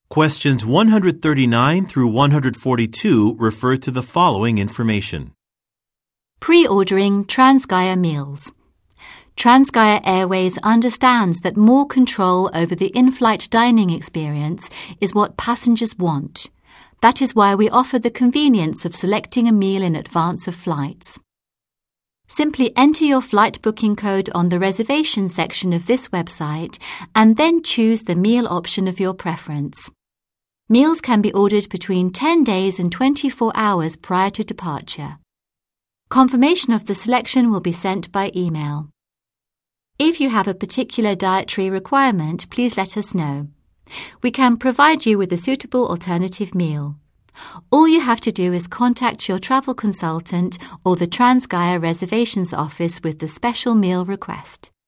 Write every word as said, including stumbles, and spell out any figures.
Questions one hundred thirty-nine through one hundred forty-two refer to the following information. Pre-ordering Transgaia meals. Transgaia Airways understands that more control over the in-flight dining experience is what passengers want. That is why we offer the convenience of selecting a meal in advance of flights. Simply enter your flight booking code on the reservation section of this website and then choose the meal option of your preference. Meals can be ordered between ten days and twenty-four hours prior to departure. Confirmation of the selection will be sent by email. If you have a particular dietary requirement, please let us know. We can provide you with a suitable alternative meal. All you have to do is contact your travel consultant or the Transgaia reservations office with the special meal request.